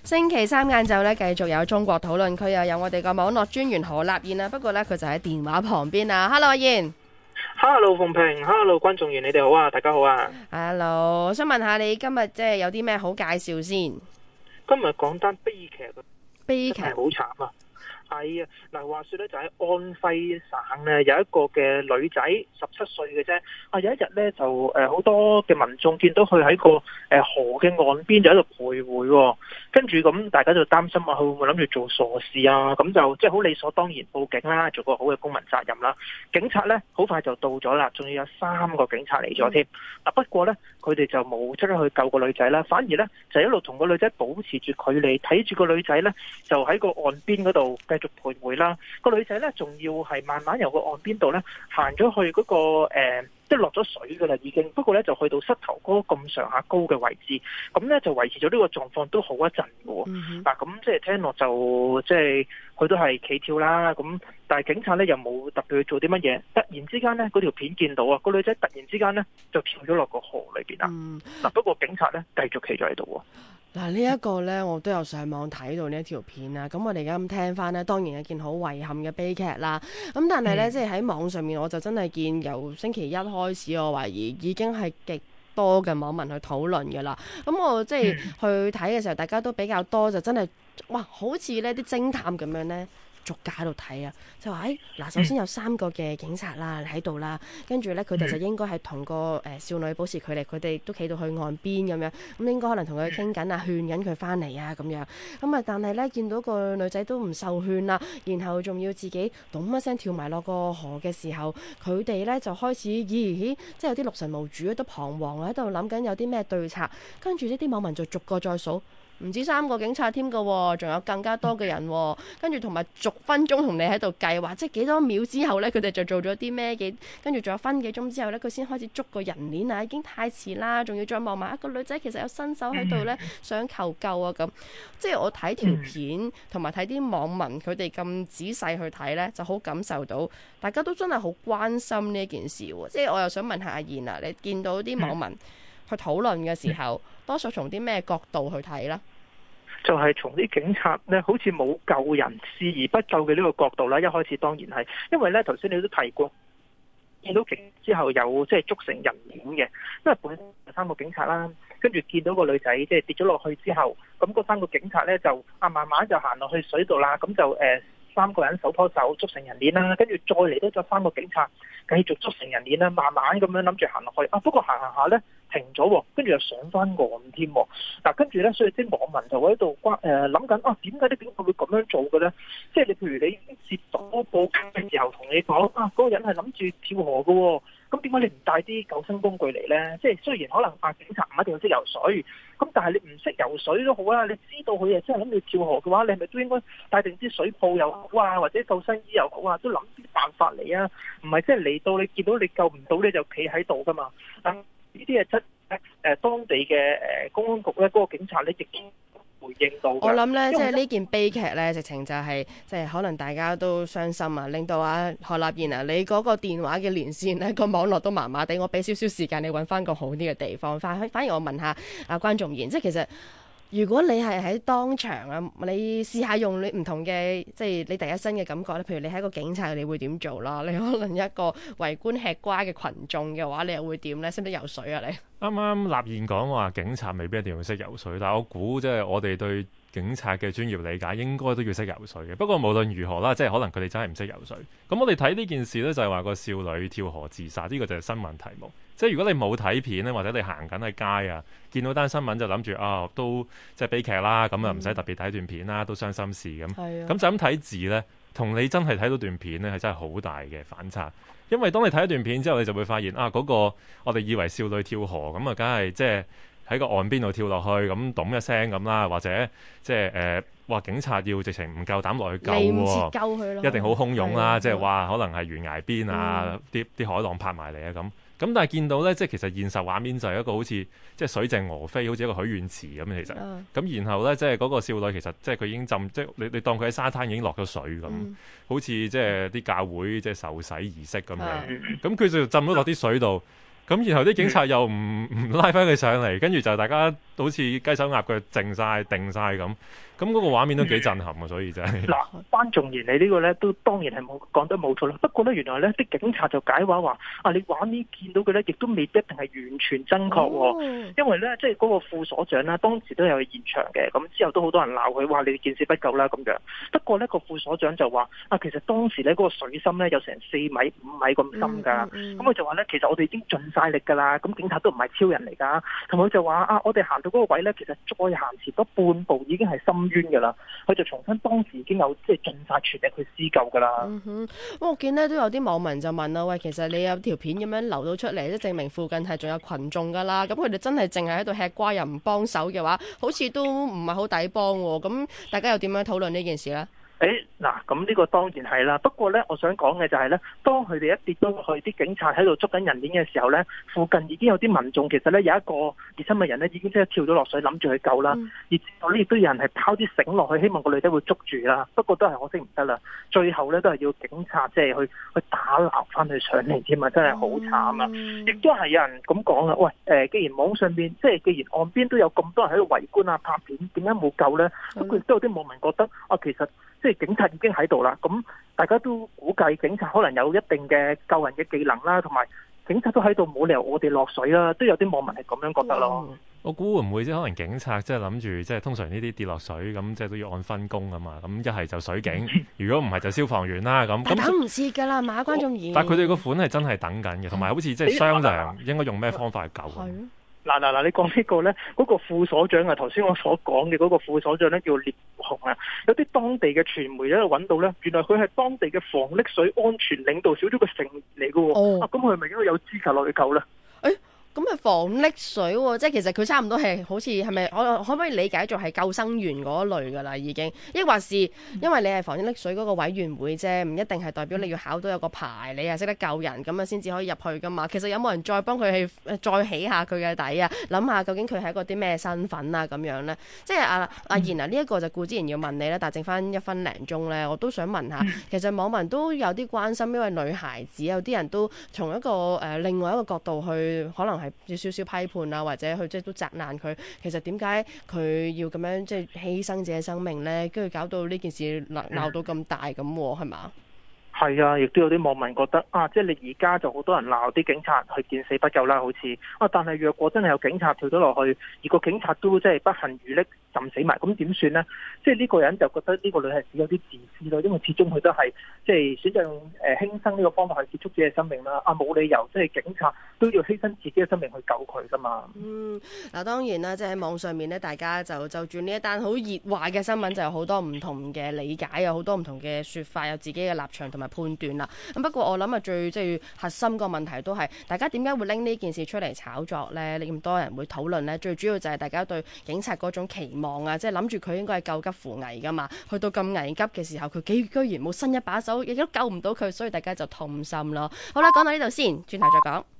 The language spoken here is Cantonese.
星期三晏晝咧，繼續有中國討論區，又有我哋個網絡專員何立燕啦。不過咧，佢就喺電話旁邊啊。Hello， 阿燕。 Hello， 鳳萍。Hello， 觀眾員，你哋好啊，大家好啊。 Hello， 我想問下你今日即係有啲咩好介紹先？ 今日講單悲劇啊， 悲劇係好慘啊。係啊，嗱，話說咧就喺安徽省咧有一個嘅女仔17歲嘅啫。有一日咧就好多嘅民眾見到佢喺個河嘅岸邊就喺度徘徊喎，跟住咁大家就擔心啊，佢會唔會諗住做傻事啊？咁就即係好理所當然報警啦，做個好嘅公民責任啦。警察咧好快就到咗啦，仲要有3個警察嚟咗添。不過咧佢哋就冇即刻去救個女仔啦，反而咧就一路同個女仔保持住距離，睇住個女仔咧就喺個岸邊嗰度繼續徘徊啦。個女仔咧仲要係慢慢由個岸邊度咧行咗去嗰個即係落咗水噶啦已經，不過咧就去到膝頭哥咁上下高嘅位置，咁咧就維持咗呢個狀況都好一陣嘅喎。嗱，咁即係聽落就即係佢都係企跳啦，咁但係警察咧又冇特別去做啲乜嘢。突然之間咧嗰條片見到啊，個女仔突然之間咧就跳咗落個河裏邊啦。嗱，不過警察咧繼續企咗喺度喎。 嗱，呢一個呢，我都有上網睇到呢一條片啊。咁我哋而家咁聽翻呢，當然係一件好遺憾嘅悲劇啦。咁但係呢，即係喺網上面，我就真係見由星期一開始，我懷疑已經係極多嘅網民去討論㗎啦。咁我即係去睇嘅時候，大家都比較多，就真係哇，好似呢啲偵探咁樣呢。逐家喺度睇啊，就話嗱，首先有3個嘅警察啦喺度啦，跟住咧佢哋就應該係同個少女保持距離，佢哋都企到去岸邊咁樣，咁應該可能同佢傾緊啊，勸緊佢翻嚟啊咁樣，咁啊但係咧見到個女仔都唔受勸啦，然後仲要自己咚一聲跳埋落個河嘅時候，佢哋咧就開始咦，即係有啲六神無主，都彷徨喺度諗緊有啲咩對策，跟住呢啲網民就逐個再數。唔止3個警察添㗎，仲有更加多嘅人，跟住同埋逐分鐘同你喺度計劃，即係幾多秒之後呢，佢哋就做咗啲咩嘅，跟住仲有分幾鐘之後呢，佢先開始捉個人鏈啊，已經太遲啦，仲要再望埋一個女仔，其實有新手喺度呢，想求救啊咁，即係我睇條片同埋睇啲網民佢哋咁仔細去睇呢，就好感受到大家都真係好關心呢件事喎，即係我又想問下阿燕啊，你見到啲網民去討論嘅時候，多數從啲咩角度去睇呢？ 就係從啲警察咧，好似冇救人視而不救嘅呢個角度啦。一開始當然係，因為咧頭先你都提過，見到警之後有即係捉成人鏈嘅，因為本身有3個警察啦，跟住見到個女仔即係跌咗落去之後，咁嗰3個警察咧就慢慢就行落去水度啦，咁就3個人手拖手捉成人鏈啦，跟住再嚟多咗3個警察繼續捉成人鏈啦，慢慢咁樣諗住行落去。不過行下咧停咗喎，跟住又上翻岸添。嗱，跟住咧，所以啲網民就喺度諗緊點解啲警察會咁樣做嘅咧？即係你譬如你已經接到報警嘅時候，同你講嗰個人係諗住跳河嘅喎，咁點解你唔帶啲救生工具嚟咧？即係雖然可能警察唔一定要識游水，咁但係你唔識游水都好啦，你知道佢係真係諗住跳河嘅話，你係咪都應該帶定啲水泡又好啊，或者救生衣又好啊，都諗啲辦法嚟啊？唔係即係嚟到你見到你救唔到你就企喺度噶嘛？呢啲係當地嘅公安局咧，嗰個警察咧亦都回應到。我諗咧，即係呢件悲劇咧，直情就係即係可能大家都傷心啊，令到何立燕啊，你嗰個電話嘅連線咧，個網絡都麻麻地，我俾少少時間你揾翻個好啲嘅地方。反而我問下關仲賢，即係其實如果你係喺當場啊，你試下用你唔同嘅，即係你第一身嘅感覺咧，譬如你係一個警察，你會點做啦？你可能一個圍觀吃瓜嘅群眾嘅話，你又會點咧？識唔識游水啊？你啱啱立燕講話警察未必一定要識游水，但係我估即係我哋對警察嘅專業理解應該都要識游水嘅。不過無論如何啦，即係可能佢哋真係唔識游水。咁我哋睇呢件事呢，就係話個少女跳河自殺，呢個就係新聞題目。即係如果你冇睇片咧，或者你行緊喺街啊，見到單新聞就諗住都即係悲劇啦，咁啊唔使特別睇段片啦，都傷心事咁。咁就咁睇字呢，同你真係睇到段片呢，係真係好大嘅反差。因為當你睇一段片之後，你就會發現嗰個我哋以為少女跳河咁啊，梗係即係喺個岸邊度跳落去咁咚一聲咁啦，或者即係話警察要直情唔夠膽落去救喎， 救佢咯， 一定好洶湧啦，即係話可能係懸崖邊啊，啲海浪拍埋嚟啊咁。咁但係見到咧，即係其實現實畫面就係一個好似即係水靜鵝飛，好似一個許願池咁其實。咁然後咧，即係嗰個少女其實即係佢已經浸，即係你當佢喺沙灘已經落咗水咁，好似即係啲教會即係受洗儀式咁樣。咁佢就浸咗落啲水度。咁然後啲警察又唔拉翻佢上嚟，跟住就大家好似雞手鴨腳靜晒定晒咁，咁嗰個畫面都幾震撼啊！所以真係嗱，關仲然你呢個咧都當然係冇講得冇錯啦。不過咧，原來咧啲警察就解話啊，你畫面見到嘅咧，亦都未必一定係完全真確喎。因為咧，即係嗰個副所長啦，當時都有去現場嘅，咁之後都好多人鬧佢，話你見識不夠啦咁樣。不過咧，個副所長就話啊，其實當時咧嗰個水深咧有成4米、5米咁深㗎。咁佢就話咧，其實我哋已經盡晒力㗎啦。咁警察都唔係超人嚟㗎。同佢就話啊，我哋行到嗰個位咧，其實再行前多半步已經係深淵㗎啦。佢就重申當時已經有即係盡晒全力去施救㗎啦。 我見咧都有啲網民就問啦，喂，其實你有條片咁樣流到出嚟，即係證明附近係仲有群眾㗎啦。咁佢哋真係淨係喺度吃瓜又唔幫手嘅話，好似都唔係好抵幫喎。咁大家又點樣討論呢件事呢？ 嗱，咁呢個當然係啦。不過呢，我想講嘅就係呢，當佢哋一跌咗落去，啲警察喺度捉緊人鏈嘅時候呢，附近已經有啲民眾其實呢，有一個熱心嘅人呢已經即刻跳咗落水，諗住去救啦。而之後呢，亦都有人係拋啲繩落去，希望個女仔會捉住啦。不過都係可惜唔得啦。最後呢，都係要警察即係去打撈翻佢上嚟添啊！真係好慘啊！亦都係有人咁講啦，喂，既然網上邊即係既然岸邊都有咁多人喺度圍觀啊拍片，點解冇救呢？不過亦都有啲網民覺得啊，其實即係警察已經喺度啦，咁大家都估計警察可能有一定嘅救人嘅技能啦，同埋警察都喺度，冇理由我哋落水啦，都有啲網民係咁樣覺得咯。 我估會唔會即係可能警察即係諗住即係通常呢啲跌落水咁，即係都要按分工啊嘛。咁一係就水警，如果唔係就消防員啦。咁等唔切㗎啦，馬關仲嚴。 但係佢哋個款係真係等緊嘅，同埋好似即係商量應該用咩方法去救。 嗱，你講呢個呢，嗰個副所長啊，頭先我所講嘅嗰個副所長呢，叫聶雄啊，有啲當地嘅傳媒喺度揾到呢，原來佢係當地嘅防溺水安全領導小組嘅成員嚟嘅喎。咁佢係咪應該有資格落去救呢？ 咁係防溺水喎，即係其實佢差唔多係好似係咪？我可唔可以理解做係救生員嗰類㗎啦？已經，抑或是因為你係防溺水嗰個委員會啫，唔一定係代表你要考到有個牌，你係識得救人咁樣先至可以入去㗎嘛？其實有冇人再幫佢去再起下佢嘅底啊？諗下究竟佢係一個啲咩身份啊？咁樣呢？即係阿言啊，呢一個就顧之然要問你啦，但係剩翻1分零鐘呢，我都想問下，其實網民都有啲關心，因為女孩子有啲人都從一個另外一個角度去，可能係有少少批判啊，或者去即係都責難佢。其實點解佢要咁樣即係犧牲自己生命呢？跟住搞到呢件事鬧到咁大咁，係嘛？ 係啊，亦都有啲網民覺得啊，即係你而家就好多人鬧啲警察去見死不救啦，好似啊，但係若果真係有警察跳咗落去，而個警察都即係不幸遇溺浸死埋，咁點算呢？即係呢個人就覺得呢個女孩子有啲自私咯，因為始終佢都係即係選擇用輕生呢個方法去結束自己嘅生命啦。啊，冇理由即係警察都要犧牲自己嘅生命去救佢噶嘛。 嗱當然啦，即係喺網上面咧，大家就住呢一單好熱話嘅新聞，就有好多唔同嘅理解，有好多唔同嘅説法，有自己嘅立場同埋判斷啦。咁不過我諗最即係核心個問題都係大家點解會拎呢件事出嚟炒作呢？你咁多人會討論呢？最主要就係大家對警察嗰種期望啊，即係諗住佢應該係救急扶危噶嘛。去到咁危急嘅時候，佢居然冇伸一把手，亦都救唔到佢，所以大家就痛心咯。好啦，講到呢度先，轉頭再講。